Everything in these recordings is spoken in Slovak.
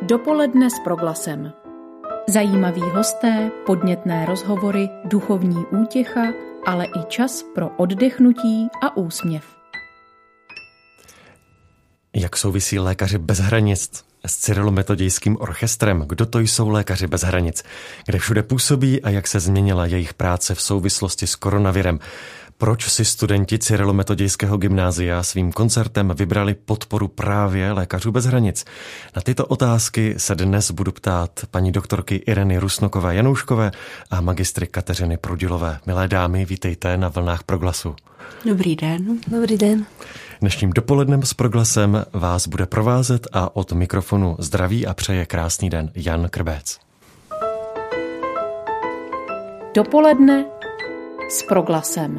Dopoledne s Proglasem. Zajímaví hosté, podnětné rozhovory, duchovní útěcha, ale i čas pro oddechnutí a úsměv. Jak souvisí Lékaři bez hranic s Cyrilometodějským orchestrem? Kdo to jsou Lékaři bez hranic? Kde všude působí a jak se změnila jejich práce v souvislosti s koronavirem? Proč si studenti Cyrilometodějského gymnázia svým koncertem vybrali podporu právě Lékařů bez hranic? Na tyto otázky se dnes budu ptát paní doktorky Ireny Rusnokové-Janouškové a magistry Kateřiny Prudilové. Milé dámy, vítejte na vlnách Proglasu. Dobrý den. Dobrý den. Dnešním dopolednem s Proglasem vás bude provázet a od mikrofonu zdraví a přeje krásný den Jan Krbec. Dopoledne s Proglasem.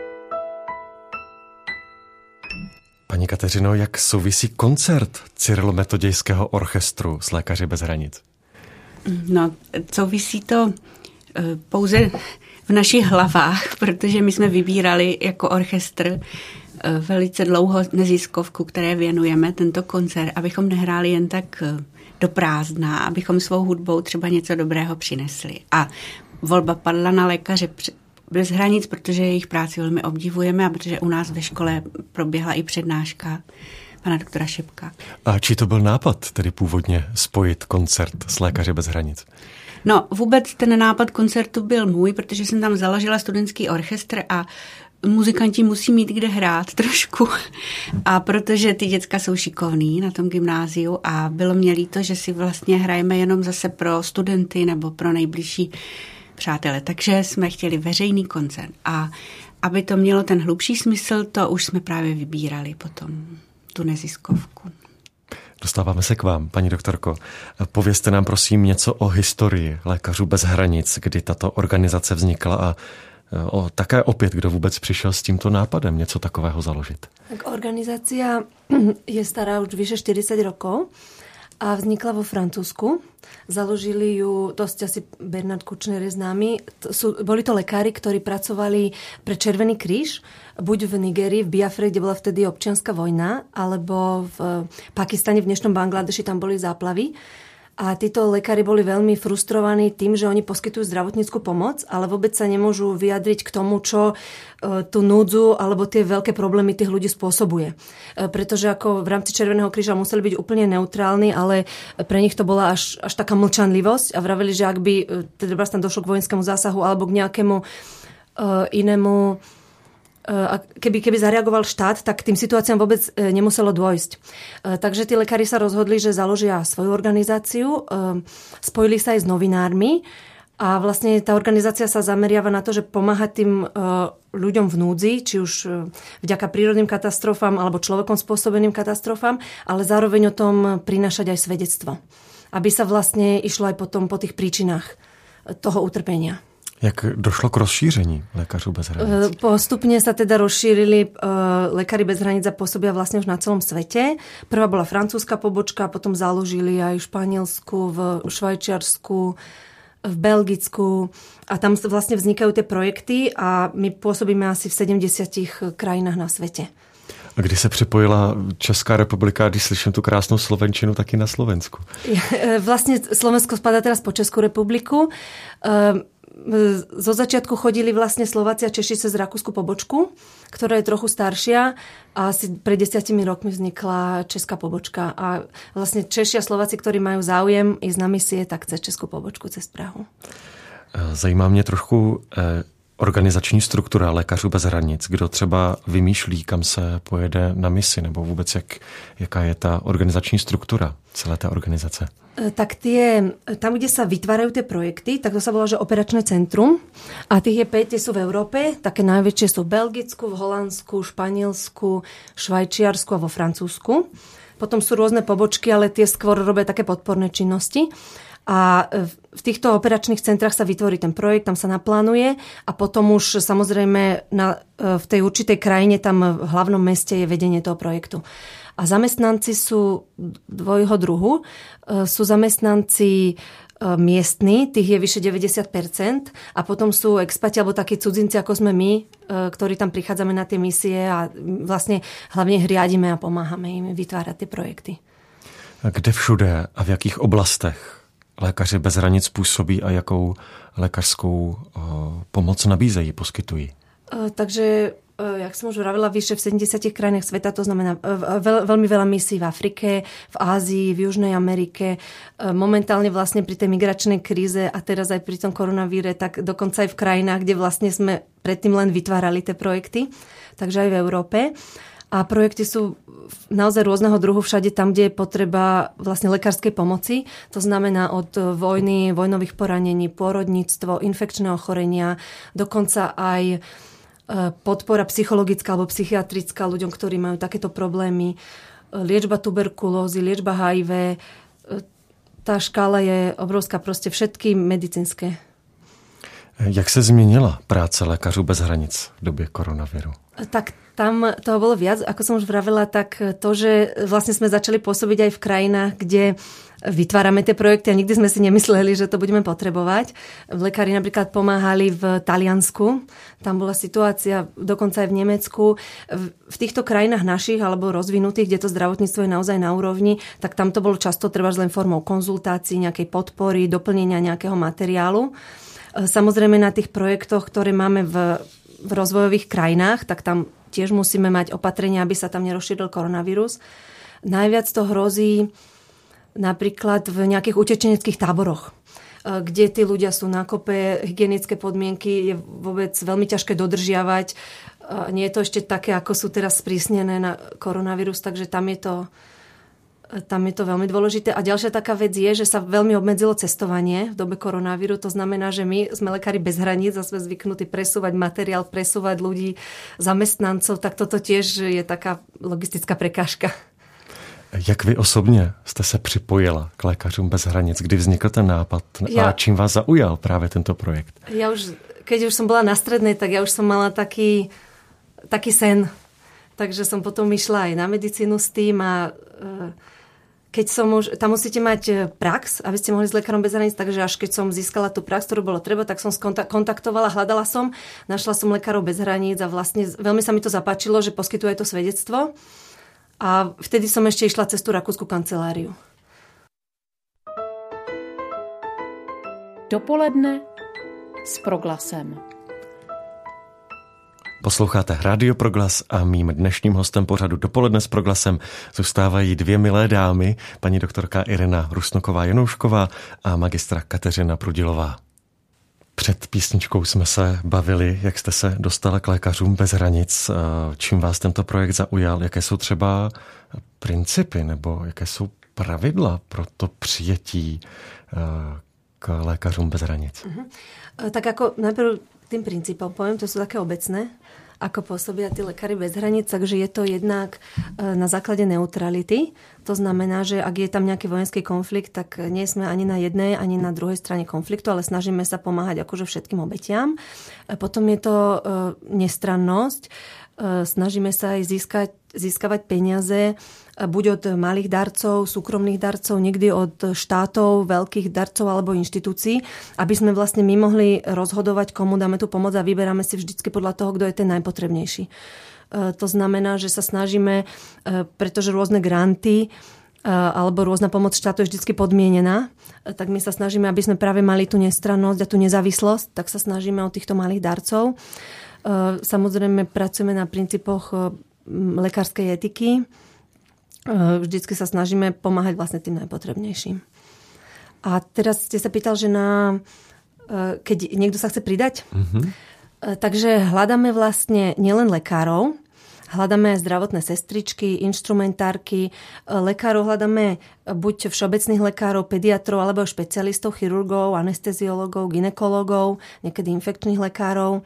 Paní Kateřino, jak souvisí koncert Cyrilometodějského orchestru s Lékaři bez hranic? No, souvisí to pouze v našich hlavách, protože my jsme vybírali jako orchestr velice dlouho neziskovku, které věnujeme tento koncert, abychom nehráli jen tak do prázdna, abychom svou hudbou třeba něco dobrého přinesli. A volba padla na Lékaře bez hranic, protože jejich práci velmi obdivujeme a protože u nás ve škole proběhla i přednáška pana doktora Šepka. A či to byl nápad, tedy původně spojit koncert s Lékaři bez hranic? No, vůbec ten nápad koncertu byl můj, protože jsem tam založila studentský orchestr a muzikanti musí mít kde hrát trošku. A protože ty děcka jsou šikovní na tom gymnáziu a bylo mě líto, že si vlastně hrajeme jenom zase pro studenty nebo pro nejbližší přátele. Takže jsme chtěli veřejný koncert. A aby to mělo ten hlubší smysl, to už jsme právě vybírali potom tu neziskovku. Dostáváme se k vám, paní doktorko. Povězte nám prosím něco o historii Lékařů bez hranic, kdy tato organizace vznikla a také opět, kdo vůbec přišel s tímto nápadem něco takového založit. Tak organizácia je stará už vyše 40 rokov a vznikla vo Francúzsku. Založili ju, dosť asi Bernard Kouchner je známy. Boli to lekári, ktorí pracovali pre Červený kríž, buď v Nigérii, v Biafre, kde bola vtedy občianska vojna, alebo v Pakistane, v dnešnom Bangladeši, tam boli záplavy. A títo lekári boli veľmi frustrovaní tým, že oni poskytujú zdravotnícku pomoc, ale vôbec sa nemôžu vyjadriť k tomu, čo tú núdzu alebo tie veľké problémy tých ľudí spôsobuje. Pretože ako v rámci Červeného kríža museli byť úplne neutrálni, ale pre nich to bola až taká mlčanlivosť a vraveli, že ak by teda tam došlo k vojenskému zásahu alebo k nejakému inému a keby zareagoval štát, tak tým situáciám vôbec nemuselo dôjsť. Takže tí lekári sa rozhodli, že založia svoju organizáciu, spojili sa aj s novinármi a vlastne tá organizácia sa zameriava na to, že pomáha tým ľuďom v núdzi, či už vďaka prírodným katastrofám alebo človekom spôsobeným katastrofám, ale zároveň o tom prinášať aj svedectvo. Aby sa vlastne išlo aj potom po tých príčinách toho utrpenia. Jak došlo k rozšíření Lékařů bez hranic? Postupne sa teda rozšírili Lékaři bez hranic a pôsobia vlastne už na celom svete. Prvá bola francúzska pobočka, potom založili aj v Španielsku, v Švajčiarsku, v Belgicku a tam vlastne vznikajú tie projekty a my pôsobíme asi v 70 krajinách na svete. A kdy se připojila Česká republika, když slyším tu krásnou slovenčinu, taky na Slovensku? Vlastne Slovensko spadá teraz po Českú republiku. Zo začiatku chodili vlastne Slováci a Češi cez rakúsku pobočku, ktorá je trochu staršia a asi pred 10 rokmi vznikla česká pobočka. A vlastne Češi a Slováci, ktorí majú záujem ísť na misie, tak cez českú pobočku, cez Prahu. Zajímá mě trochu organizační struktura Lékařů bez hranic. Kdo třeba vymýšlí, kam se pojede na misi, nebo vůbec jaká je ta organizační struktura celé té organizace? Tak tam, kde sa vytvárajú tie projekty, tak to sa volá, že operačné centrum. A tých je 5, tie sú v Európe. Také najväčšie sú v Belgicku, v Holandsku, Španielsku, Švajčiarsku a vo Francúzsku. Potom sú rôzne pobočky, ale tie skôr robia také podporné činnosti. A v týchto operačných centrách sa vytvorí ten projekt, tam sa naplánuje a potom už samozrejme v tej určitej krajine, tam v hlavnom meste je vedenie toho projektu. A zamestnanci sú dvojho druhu. Sú zamestnanci miestni, tých je vyše 90%, a potom sú expati alebo takí cudzinci, ako sme my, ktorí tam prichádzame na tie misie a vlastne hlavne riadime a pomáhame im vytvárať tie projekty. Kde všude a v jakých oblastech Lékaři bez hranic působí a jakou lékařskou pomoc nabízejí, poskytují? Takže, jak som už vravila, vyše v 70 krajinách sveta, to znamená veľmi veľa misií v Afrike, v Ázii, v Južnej Amerike. Momentálne vlastne pri tej migračnej kríze a teraz aj pri tom koronavíre, tak dokonca aj v krajinách, kde vlastne sme predtým len vytvárali tie projekty, takže aj v Európe. A projekty sú naozaj rôzneho druhu všade tam, kde je potreba vlastne lekárskej pomoci. To znamená od vojny, vojnových poranení, pôrodníctvo, infekčné ochorenia, dokonca aj podpora psychologická alebo psychiatrická ľuďom, ktorí majú takéto problémy, liečba tuberkulózy, liečba HIV. Tá škála je obrovská, proste všetky medicínske. Jak se změnila práce lékařů bez hranic v době koronaviru? Tak tam toho bolo viac. Ako som už vravila, tak to, že vlastne sme začali pôsobiť aj v krajinách, kde vytvárame tie projekty a nikdy sme si nemysleli, že to budeme potrebovať. Lekári napríklad pomáhali v Taliansku. Tam bola situácia dokonca aj v Nemecku. V týchto krajinách našich alebo rozvinutých, kde to zdravotníctvo je naozaj na úrovni, tak tam to bolo často trebárs len formou konzultácií, nejakej podpory, doplnenia nejakého materiálu. Samozrejme na tých projektoch, ktoré máme v rozvojových krajinách, tak tam tiež musíme mať opatrenia, aby sa tam nerozšíril koronavírus. Najviac to hrozí napríklad v nejakých utečeneckých táboroch, kde tí ľudia sú na kope, hygienické podmienky je vôbec veľmi ťažké dodržiavať. Nie je to ešte také, ako sú teraz sprísnené na koronavírus, takže tam je to veľmi dôležité. A ďalšia taká vec je, že sa veľmi obmedzilo cestovanie v dobe koronavíru. To znamená, že my sme lekári bez hraníc a sme zvyknutí presúvať materiál, presúvať ľudí, zamestnancov, tak toto tiež je taká logistická prekážka. Jak vy osobně jste se připojila k Lékařům bez hranic? Kdy vznikl ten nápad a čím vás zaujal právě tento projekt? Keď už som bola na strednej, tak ja už som mala taký sen. Takže som potom išla aj na medicínu s tým a keď som už, tam musíte mať prax, aby ste mohli s Lekárom bez hraníc, takže až keď som získala tú prax, ktorú bolo treba, tak som kontaktovala, hľadala som, našla som Lekárov bez hraníc a vlastne veľmi sa mi to zapáčilo, že poskytuje to svedectvo. A vtedy som ešte išla cez tú rakúsku kanceláriu. Dopoledne s Proglasem. Posloucháte Rádio Proglas a mým dnešním hostem pořadu Dopoledne s Proglasem zůstávají dvě milé dámy, paní doktorka Irena Rusnoková-Janoušková a magistra Kateřina Prudilová. Před písničkou jsme se bavili, jak jste se dostala k Lékařům bez hranic, čím vás tento projekt zaujal, jaké jsou třeba principy nebo jaké jsou pravidla pro to přijetí k Lékařům bez hranic. Tak ako najprv tým princípom poviem, to sú také obecné, ako pôsobia tí lekári bez hraníc, takže je to jednak na základe neutrality. To znamená, že ak je tam nejaký vojenský konflikt, tak nie sme ani na jednej, ani na druhej strane konfliktu, ale snažíme sa pomáhať akože všetkým obetiam. Potom je to nestrannosť. Snažíme sa aj získavať peniaze buď od malých darcov, súkromných darcov, niekdy od štátov, veľkých darcov alebo inštitúcií, aby sme vlastne my mohli rozhodovať, komu dáme tú pomoc a vyberáme si vždycky podľa toho, kto je ten najpotrebnejší. To znamená, že sa snažíme, pretože rôzne granty alebo rôzna pomoc štátu je vždycky podmienená, tak my sa snažíme, aby sme práve mali tú nestrannosť a tú nezávislosť, tak sa snažíme od týchto malých darcov. Samozrejme pracujeme na princípoch lekárskej etiky. Vždycky sa snažíme pomáhať vlastne tým najpotrebnejším. A teraz ste sa pýtal, že keď niekto sa chce pridať, takže hľadáme vlastne nielen lekárov, hľadáme aj zdravotné sestričky, inštrumentárky, lekárov hľadáme buď všeobecných lekárov, pediatrov, alebo špecialistov, chirurgov, anesteziologov, gynekologov, niekedy infekčných lekárov.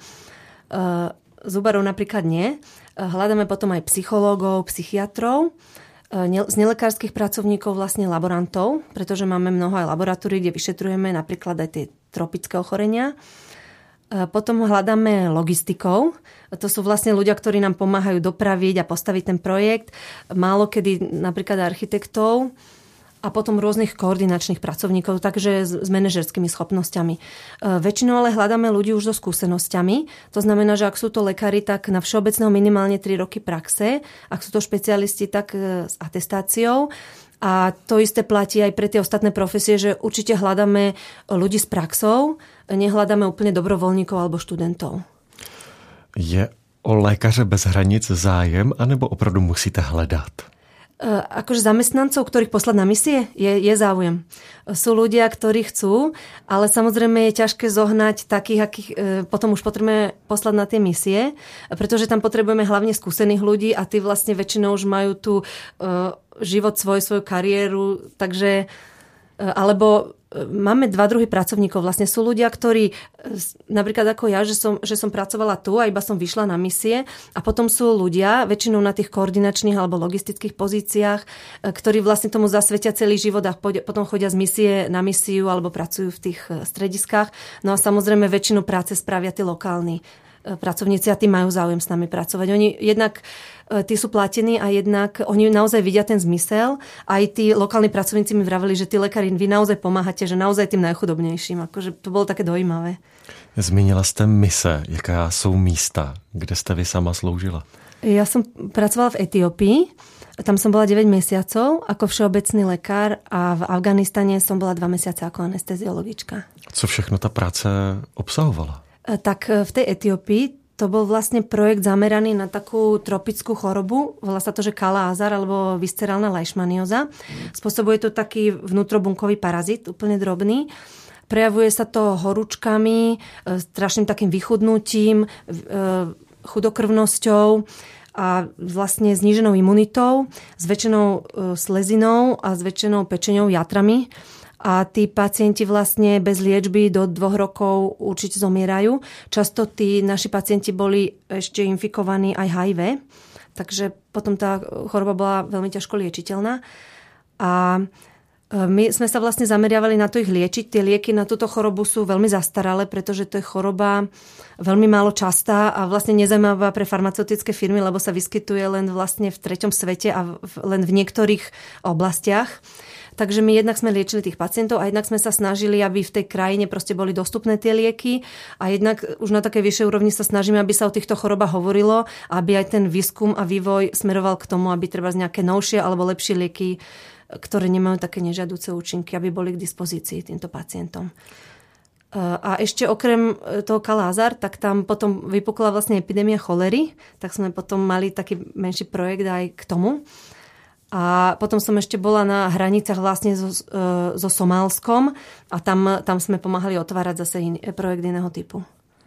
Zubarov napríklad nie. Hľadáme potom aj psychológov, psychiatrov, z nelekárskych pracovníkov vlastne laborantov, pretože máme mnoho aj laboratórií, kde vyšetrujeme napríklad aj tie tropické ochorenia. Potom hľadáme logistikov. To sú vlastne ľudia, ktorí nám pomáhajú dopraviť a postaviť ten projekt. Málo kedy napríklad architektov a potom rôznych koordinačných pracovníkov, takže s manažerskými schopnosťami. Väčšinou ale hľadáme ľudí už so skúsenosťami. To znamená, že ak sú to lekári, tak na všeobecného minimálne 3 roky praxe. Ak sú to špecialisti, tak s atestáciou. A to isté platí aj pre tie ostatné profesie, že určite hľadáme ľudí s praxou, nehľadáme úplne dobrovoľníkov alebo študentov. Je o lékaře bez hranic zájem, anebo opravdu musíte hledat? Akože zamestnancov, ktorých poslať na misie, je záujem. Sú ľudia, ktorí chcú, ale samozrejme je ťažké zohnať takých, akých potom už potrebujeme poslať na tie misie, pretože tam potrebujeme hlavne skúsených ľudí a tí vlastne väčšinou už majú tu život svoju kariéru, takže alebo máme dva druhy pracovníkov. Vlastne sú ľudia, ktorí, napríklad ako ja, že som pracovala tu a iba som vyšla na misie a potom sú ľudia, väčšinou na tých koordinačných alebo logistických pozíciách, ktorí vlastne tomu zasvetia celý život a potom chodia z misie na misiu alebo pracujú v tých strediskách. No a samozrejme väčšinu práce spravia tí lokálni pracovníci a tí majú záujem s nami pracovať. Oni jednak tí sú platení a jednak oni naozaj vidia ten zmysel. Aj tí lokálni pracovníci mi vraveli, že tí lekári, vy naozaj pomáhate, že naozaj tým najchudobnejším. Akože to bolo také dojímavé. Zmínila jste mise. Jaká jsou místa, kde jste vy sama sloužila? Ja som pracovala v Etiópii. Tam som bola 9 mesiacov ako všeobecný lekár a v Afganistane som bola 2 mesiace ako anesteziologička. Co všechno ta práce obsahovala? Tak v tej Etiópii to bol vlastne projekt zameraný na takú tropickú chorobu. Volá sa to, že Kala-Azar alebo viscerálna leishmanióza. Spôsobuje to taký vnútrobunkový parazit, úplne drobný. Prejavuje sa to horúčkami, strašným takým vychudnutím, chudokrvnosťou a vlastne zníženou imunitou, zväčšenou slezinou a zväčšenou pečeňou, játrami. A tí pacienti vlastne bez liečby do 2 rokov určite zomierajú. Často tí naši pacienti boli ešte infikovaní aj HIV, takže potom tá choroba bola veľmi ťažko liečiteľná. A my sme sa vlastne zameriavali na to ich liečiť. Tie lieky na túto chorobu sú veľmi zastaralé, pretože to je choroba veľmi málo častá a vlastne nezaujímavá pre farmaceutické firmy, lebo sa vyskytuje len vlastne v 3. svete a len v niektorých oblastiach. Takže my jednak sme liečili tých pacientov a jednak sme sa snažili, aby v tej krajine proste boli dostupné tie lieky a jednak už na takej vyššej úrovni sa snažíme, aby sa o týchto chorobách hovorilo, aby aj ten výskum a vývoj smeroval k tomu, aby treba nejaké novšie alebo lepšie lieky, ktoré nemajú také nežiaduce účinky, aby boli k dispozícii týmto pacientom. A ešte okrem toho Kala-Azar, tak tam potom vypukla vlastne epidémia cholery, tak sme potom mali taký menší projekt aj k tomu. A potom som ešte bola na hranicách vlastne so Somálskom a tam sme pomáhali otvárať zase projekt iného typu.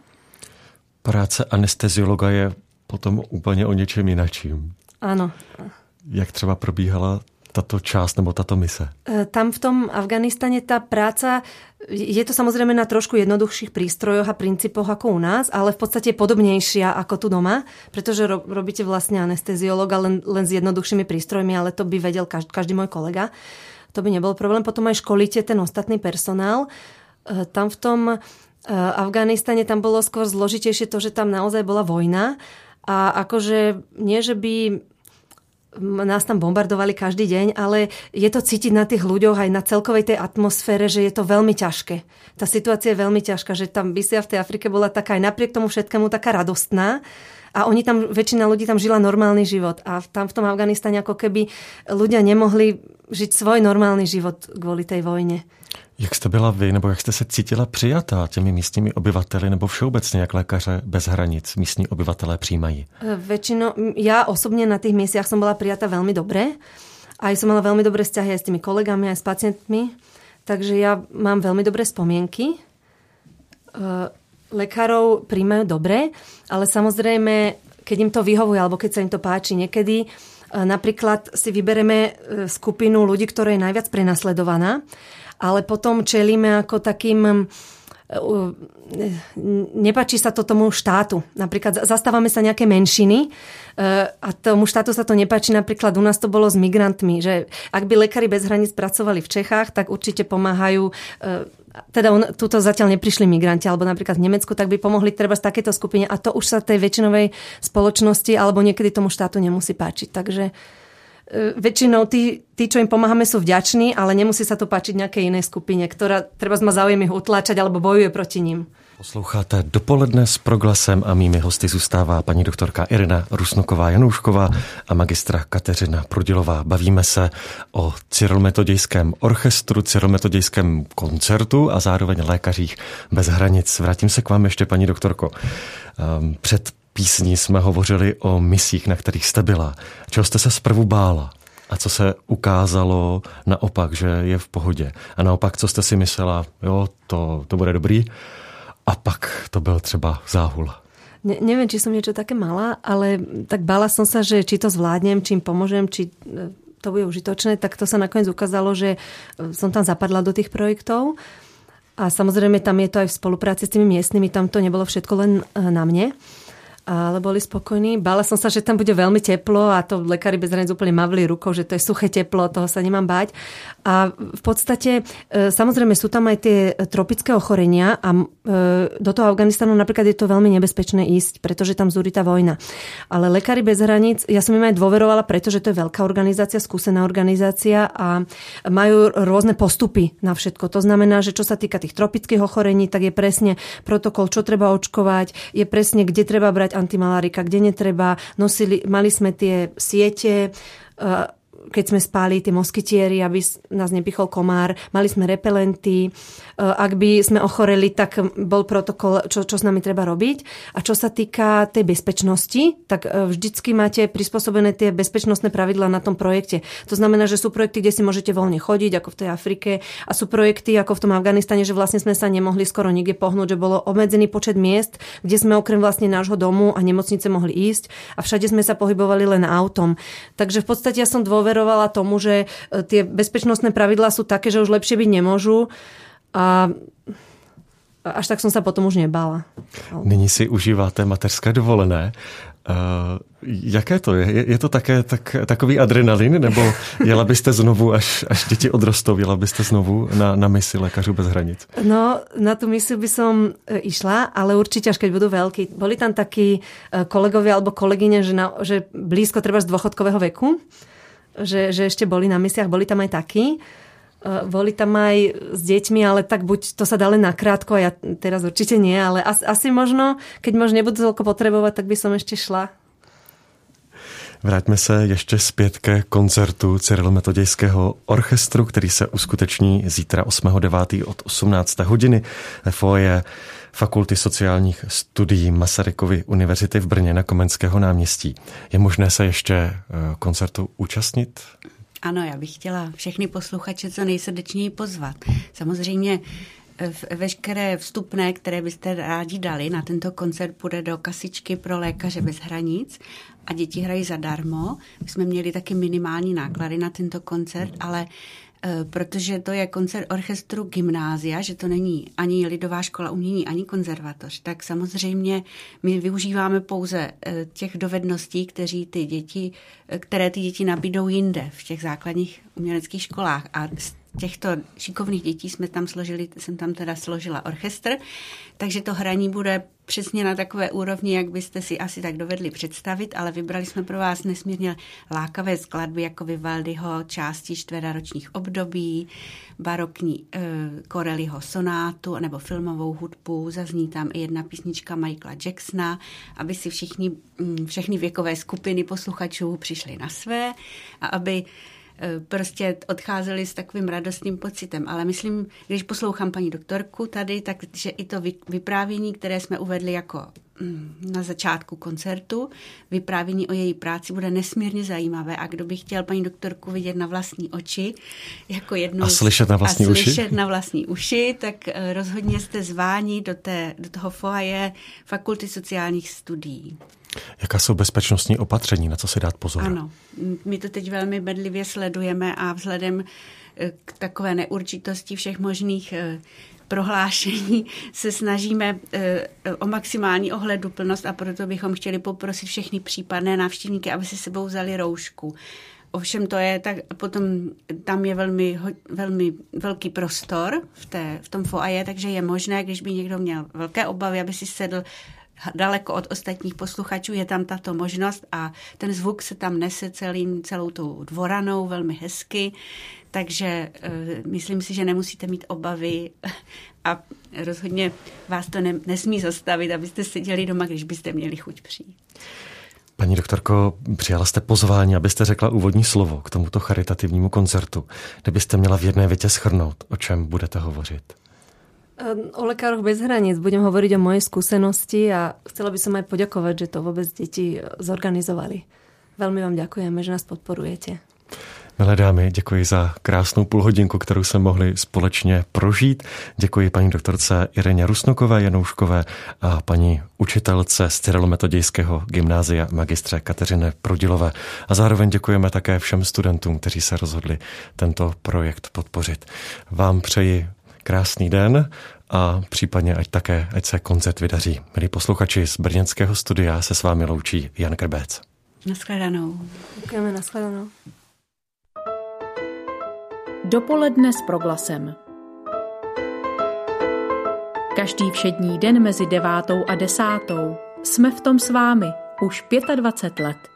Práce anesteziologa je potom úplně o něčem jinačím. Áno. Jak třeba probíhala tato část nebo tato mise? Tam v tom Afganistane tá práca, je to samozrejme na trošku jednoduchších prístrojoch a princípoch ako u nás, ale v podstate podobnejšia ako tu doma, pretože robíte vlastne anesteziologa len s jednoduchšími prístrojmi, ale to by vedel každý môj kolega. To by nebol problém. Potom aj školíte ten ostatný personál. Tam v tom Afganistane tam bolo skôr zložitejšie to, že tam naozaj bola vojna a akože nie, že by nás tam bombardovali každý deň, ale je to cítiť na tých ľuďoch aj na celkovej tej atmosfére, že je to veľmi ťažké. Tá situácia je veľmi ťažká, že tam misia v tej Afrike bola taká aj napriek tomu všetkému taká radostná a oni tam, väčšina ľudí tam žila normálny život a tam v tom Afganistane ako keby ľudia nemohli žiť svoj normálny život kvôli tej vojne. Jak jste byla vy, nebo jak jste se cítila přijatá těmi místními obyvateli, nebo všeobecně, jak lékaře bez hranic místní obyvatelé přijímají? Väčšinou, ja osobne na tých miestach som bola prijatá veľmi dobre. Aj som mala veľmi dobré vzťahy aj s tými kolegami, aj s pacientmi. Takže ja mám veľmi dobré spomienky. Lekárov prijímajú dobre, ale samozrejme, keď im to vyhovuje, alebo keď sa im to páči niekedy, napríklad si vybereme skupinu ľudí, ktorá je najviac prenasledovaná, ale potom čelíme ako takým, nepáči sa to tomu štátu. Napríklad zastávame sa nejaké menšiny a tomu štátu sa to nepáči. Napríklad u nás to bolo s migrantmi, že ak by lekári bez hraníc pracovali v Čechách, tak určite pomáhajú, teda tuto zatiaľ neprišli migranti, alebo napríklad v Nemecku, tak by pomohli treba z takéto skupine a to už sa tej väčšinovej spoločnosti alebo niekedy tomu štátu nemusí páčiť. Takže väčšinou tí, čo im pomáhame, sú vďační, ale nemusí sa to páčiť nejakej inej skupine, ktorá treba má záujem ich utláčať alebo bojuje proti ním. Posloucháte Dopoledne s Proglasem a mými hosty zůstává paní doktorka Irina Rusnoková-Janoušková a magistra Kateřina Prudilová. Bavíme se o Cyrolometodějském orchestru, Cyrolometodějském koncertu a zároveň Lékařích bez hranic. Vrátím se k vám ještě, paní doktorko. Před písní jsme hovořili o misích, na kterých jste byla. Čeho jste se zprvu bála? A co se ukázalo naopak, že je v pohodě? A naopak, co jste si myslela, jo, to bude dobrý? A pak to byl třeba záhul. Neviem, či som niečo také mala, ale tak bála som sa, že či to zvládnem, či im pomôžem, či to bude užitočné, tak to sa nakoniec ukázalo, že som tam zapadla do tých projektov. A samozrejme tam je to aj v spolupráci s tými miestnymi, tam to nebolo všetko len na mne. Ale boli spokojní. Bála som sa, že tam bude veľmi teplo a to Lekári bez hraníc úplne mavli rukou, že to je suché teplo, toho sa nemám báť. A v podstate, samozrejme, sú tam aj tie tropické ochorenia a do toho Afganistanu napríklad je to veľmi nebezpečné ísť, pretože tam zúri tá vojna. Ale Lekári bez hraníc, ja som im aj dôverovala, pretože to je veľká organizácia, skúsená organizácia a majú rôzne postupy na všetko. To znamená, že čo sa týka tých tropických ochorení, tak je presne protokol, čo treba očkovať, je presne, kde treba brať antimalárika, kde netreba. Mali sme tie siete, keď sme spali tie moskytieri, aby nás nepichol komár. Mali sme repelenty. Ak by sme ochoreli, tak bol protokol, čo s nami treba robiť. A čo sa týka tej bezpečnosti, tak vždycky máte prispôsobené tie bezpečnostné pravidlá na tom projekte. To znamená, že sú projekty, kde si môžete voľne chodiť, ako v tej Afrike, a sú projekty, ako v tom Afganistane, že vlastne sme sa nemohli skoro nikde pohnúť, že bolo obmedzený počet miest, kde sme okrem vlastne nášho domu a nemocnice mohli ísť a všade sme sa pohybovali len autom. Takže v podstate ja som dôverovala tomu, že tie bezpečnostné pravidlá sú také, že už lepšie byť nemôžu. A až tak som sa potom už nebála. Nyní si užíváte mateřské dovolené. Jaké to je? Je to také takový adrenalin? Nebo jela byste znovu, až děti odrostou, jela byste znovu na misi Lékařů bez hranic? No, na tú misiu by som išla, ale určite až keď budú veľkí. Boli tam takí kolegovia alebo kolegyne, že blízko treba z dôchodkového veku, že ešte boli na misiách, boli tam aj takí. Boli tam aj s deťmi, ale tak buď to sa dá len nakrátko, ja teraz určite nie, ale asi možno, keď možno nebudú toľko potrebovať, tak by som ešte šla. Vraťme se ještě zpět ke koncertu Cyrolometodějského orchestru, který se uskuteční zítra 8.9. od 18. hodiny ve foyer Fakulty sociálních studií Masarykovy univerzity v Brně na Komenského náměstí. Je možné se ještě koncertu účastnit? Ano, já bych chtěla všechny posluchače co nejsrdečněji pozvat. Samozřejmě veškeré vstupné, které byste rádi dali na tento koncert, půjde do kasičky pro Lékaře bez hranic a děti hrají zadarmo. My jsme měli taky minimální náklady na tento koncert, ale protože to je koncert orchestru gymnázia, že to není ani lidová škola umění, ani konzervatoř, tak samozřejmě my využíváme pouze těch dovedností, které ty děti nabídou jinde v těch základních uměleckých školách. A z těchto šikovných dětí jsem tam složila orchestr, takže to hraní bude přesně na takové úrovni, jak byste si asi tak dovedli představit, ale vybrali jsme pro vás nesmírně lákavé skladby, jako Vivaldiho části čtveročních období, barokní Corelliho sonátu nebo filmovou hudbu, zazní tam i jedna písnička Michaela Jacksona, aby si všechny věkové skupiny posluchačů přišly na své a aby prostě odcházeli s takovým radostným pocitem. Ale myslím, když poslouchám paní doktorku tady, takže i to vyprávění, které jsme uvedli jako na začátku koncertu, vyprávění o její práci bude nesmírně zajímavé a kdo by chtěl paní doktorku vidět na vlastní oči, jako jednu a slyšet na vlastní uši, tak rozhodně jste zváni do toho foyer Fakulty sociálních studií. Jaká jsou bezpečnostní opatření, na co si dát pozor? Ano, my to teď velmi bedlivě sledujeme a vzhledem k takové neurčitosti všech možných prohlášení se snažíme o maximální ohleduplnost a proto bychom chtěli poprosit všechny případné návštěvníky, aby si sebou vzali roušku. Ovšem to je tak, potom tam je velmi velký prostor v tom foyer, takže je možné, když by někdo měl velké obavy, aby si sedl daleko od ostatních posluchačů, je tam tato možnost a ten zvuk se tam nese celou tou dvoranou velmi hezky, takže myslím si, že nemusíte mít obavy a rozhodně vás to nesmí zastavit, abyste seděli doma, když byste měli chuť přijít. Paní doktorko, přijala jste pozvání, abyste řekla úvodní slovo k tomuto charitativnímu koncertu. Kdybyste měla v jedné větě shrnout, o čem budete hovořit? O Lekároch bez hraníc budem hovoriť o mojej skúsenosti a chcela by som aj poďakovať, že to vôbec deti zorganizovali. Veľmi vám ďakujeme, že nás podporujete. Milé dámy, děkuji za krásnou půlhodinku, kterou jsme mohli společně prožít. Děkuji paní doktorce Ireně Rusnokové Janouškové a paní učitelce z Cyrilometodějského gymnázia magistře Kateřině Prudilové. A zároveň děkujeme také všem studentům, kteří se rozhodli tento projekt podpořit. Vám přeji krásný den a případně ať se koncert vydaří. Milí posluchači, z brněnského studia se s vámi loučí Jan Krbec. Naschledanou. Děkujeme, naschledanou. Dopoledne s Proglasem. Každý všední den mezi 9. a 10. jsme v tom s vámi už 25 let.